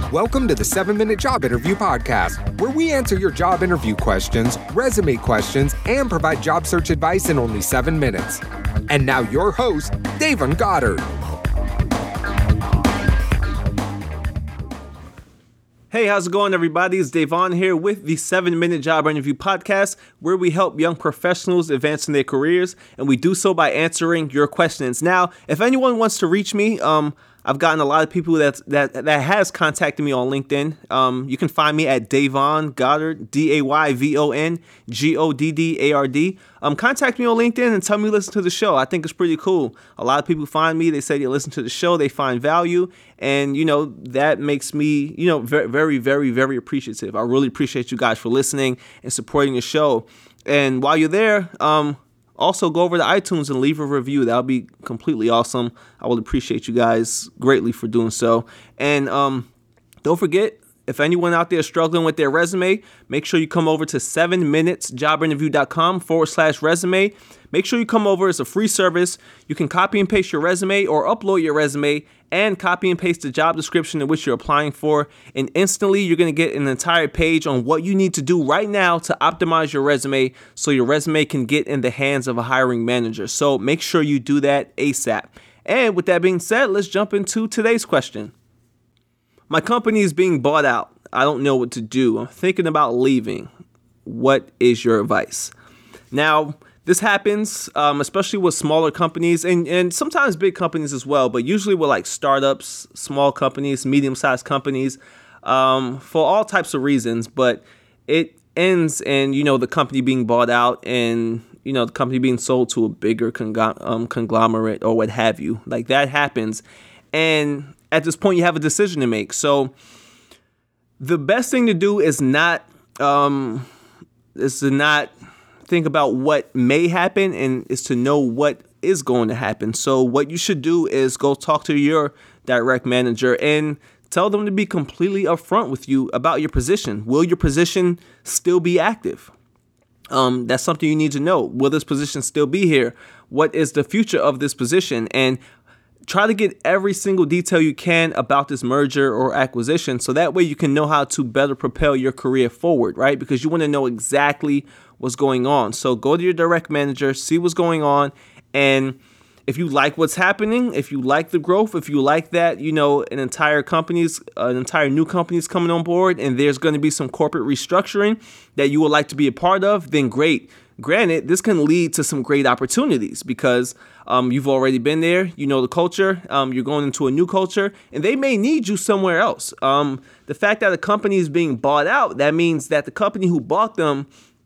Welcome to the 7-Minute Job Interview Podcast, where we answer your job interview questions, resume questions, and provide job search advice in only 7 minutes. And now your host, Davon Goddard. Hey, how's it going, everybody? It's Davon here with the 7-Minute Job Interview Podcast, where we help young professionals advance in their careers, and we do so by answering your questions. Now, if anyone wants to reach me, I've gotten a lot of people that has contacted me on LinkedIn. You can find me at Davon Goddard, DAYVON GODDARD. Contact me on LinkedIn and tell me you listen to the show. I think it's pretty cool. A lot of people find me. They say they listen to the show. They find value. And, that makes me, very, very, very, very appreciative. I really appreciate you guys for listening and supporting the show. And while you're there, also, go over to iTunes and leave a review. That would be completely awesome. I would appreciate you guys greatly for doing so. And don't forget, if anyone out there is struggling with their resume, make sure you come over to 7minutesjobinterview.com/resume. Make sure you come over. It's a free service. You can copy and paste your resume or upload your resume and copy and paste the job description in which you're applying for. And instantly, you're going to get an entire page on what you need to do right now to optimize your resume so your resume can get in the hands of a hiring manager. So make sure you do that ASAP. And with that being said, let's jump into today's question. My company is being bought out. I don't know what to do. I'm thinking about leaving. What is your advice? Now, this happens, especially with smaller companies and sometimes big companies as well, but usually with like startups, small companies, medium-sized companies, for all types of reasons. But it ends in, the company being bought out and, the company being sold to a bigger conglomerate or what have you. Like that happens. And at this point, you have a decision to make. So the best thing to do is not think about what may happen and is to know what is going to happen. So what you should do is go talk to your direct manager and tell them to be completely upfront with you about your position. Will your position still be active? That's something you need to know. Will this position still be here? What is the future of this position? And try to get every single detail you can about this merger or acquisition so that way you can know how to better propel your career forward, right? Because you want to know exactly what's going on. So go to your direct manager, see what's going on, and if you like what's happening, if you like the growth, if you like that, an entire new company is coming on board and there's going to be some corporate restructuring that you would like to be a part of, then great. Granted, this can lead to some great opportunities because you've already been there, the culture, you're going into a new culture, and they may need you somewhere else. The fact that a company is being bought out, that means that the company who bought them,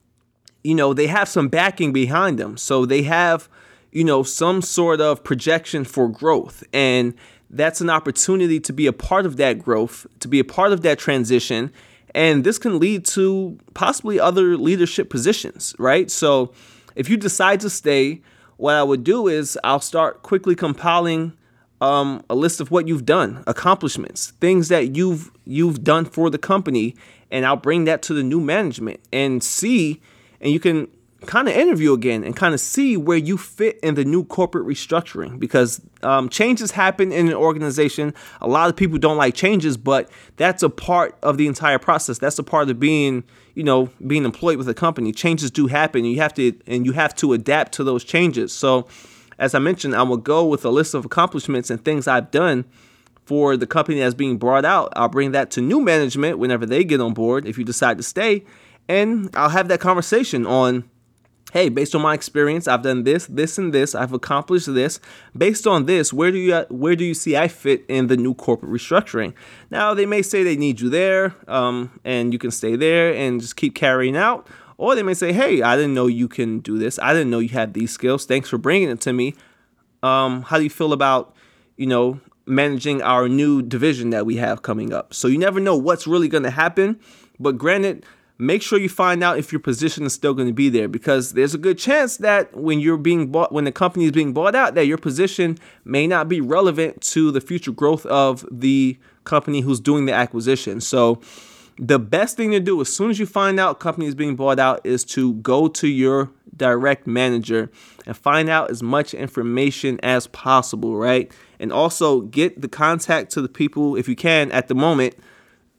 they have some backing behind them. So they have, some sort of projection for growth. And that's an opportunity to be a part of that growth, to be a part of that transition. And this can lead to possibly other leadership positions, right? So if you decide to stay, what I would do is I'll start quickly compiling a list of what you've done, accomplishments, things that you've done for the company, and I'll bring that to the new management and you can kind of interview again and kind of see where you fit in the new corporate restructuring because changes happen in an organization. A lot of people don't like changes, but that's a part of the entire process. That's a part of being employed with a company. Changes do happen. You have to adapt to those changes. So as I mentioned, I will go with a list of accomplishments and things I've done for the company that's being brought out. I'll bring that to new management whenever they get on board, if you decide to stay, and I'll have that conversation on, hey, based on my experience, I've done this, this, and this. I've accomplished this. Based on this, where do you see I fit in the new corporate restructuring? Now, they may say they need you there, and you can stay there and just keep carrying out. Or they may say, hey, I didn't know you can do this. I didn't know you had these skills. Thanks for bringing it to me. How do you feel about, managing our new division that we have coming up? So you never know what's really going to happen. But granted, make sure you find out if your position is still going to be there because there's a good chance that when the company is being bought out, that your position may not be relevant to the future growth of the company who's doing the acquisition. So the best thing to do as soon as you find out company is being bought out is to go to your direct manager and find out as much information as possible, right? And also get the contact to the people, if you can, at the moment,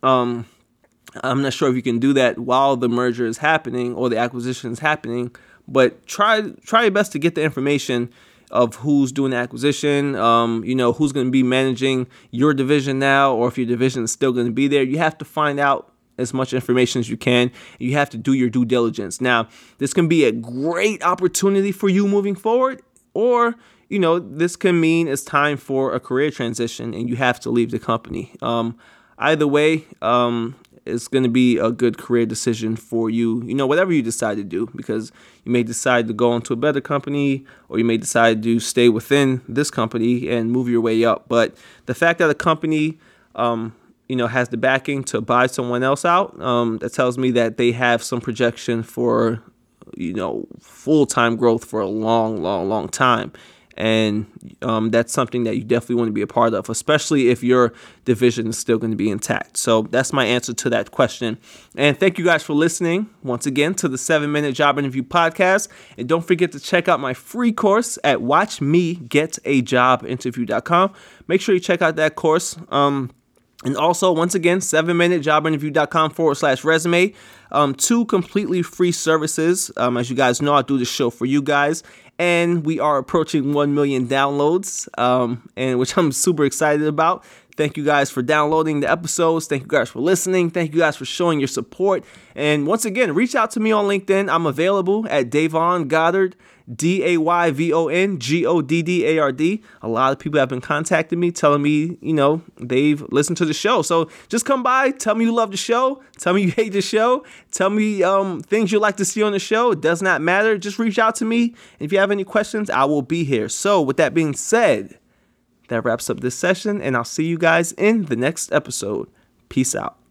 I'm not sure if you can do that while the merger is happening or the acquisition is happening, but try your best to get the information of who's doing the acquisition, who's going to be managing your division now, or if your division is still going to be there. You have to find out as much information as you can. You have to do your due diligence. Now, this can be a great opportunity for you moving forward, or this can mean it's time for a career transition and you have to leave the company. Either way, it's going to be a good career decision for you, whatever you decide to do, because you may decide to go into a better company, or you may decide to stay within this company and move your way up. But the fact that a company, has the backing to buy someone else out, that tells me that they have some projection for, full-time growth for a long, long, long time. And that's something that you definitely want to be a part of, especially if your division is still going to be intact. So that's my answer to that question. And thank you guys for listening once again to the 7-Minute Job Interview Podcast. And don't forget to check out my free course at watchmegetajobinterview.com. Make sure you check out that course. And also, once again, 7minutejobinterview.com/resume. 2 completely free services. As you guys know, I do this show for you guys. And we are approaching 1 million downloads, and which I'm super excited about. Thank you guys for downloading the episodes. Thank you guys for listening. Thank you guys for showing your support. And once again, reach out to me on LinkedIn. I'm available at Davon Goddard, DAYVON GODDARD. A lot of people have been contacting me, telling me, they've listened to the show. So just come by, tell me you love the show, tell me you hate the show, tell me things you'd like to see on the show. It does not matter. Just reach out to me. And if you have any questions, I will be here. So with that being said, that wraps up this session, and I'll see you guys in the next episode. Peace out.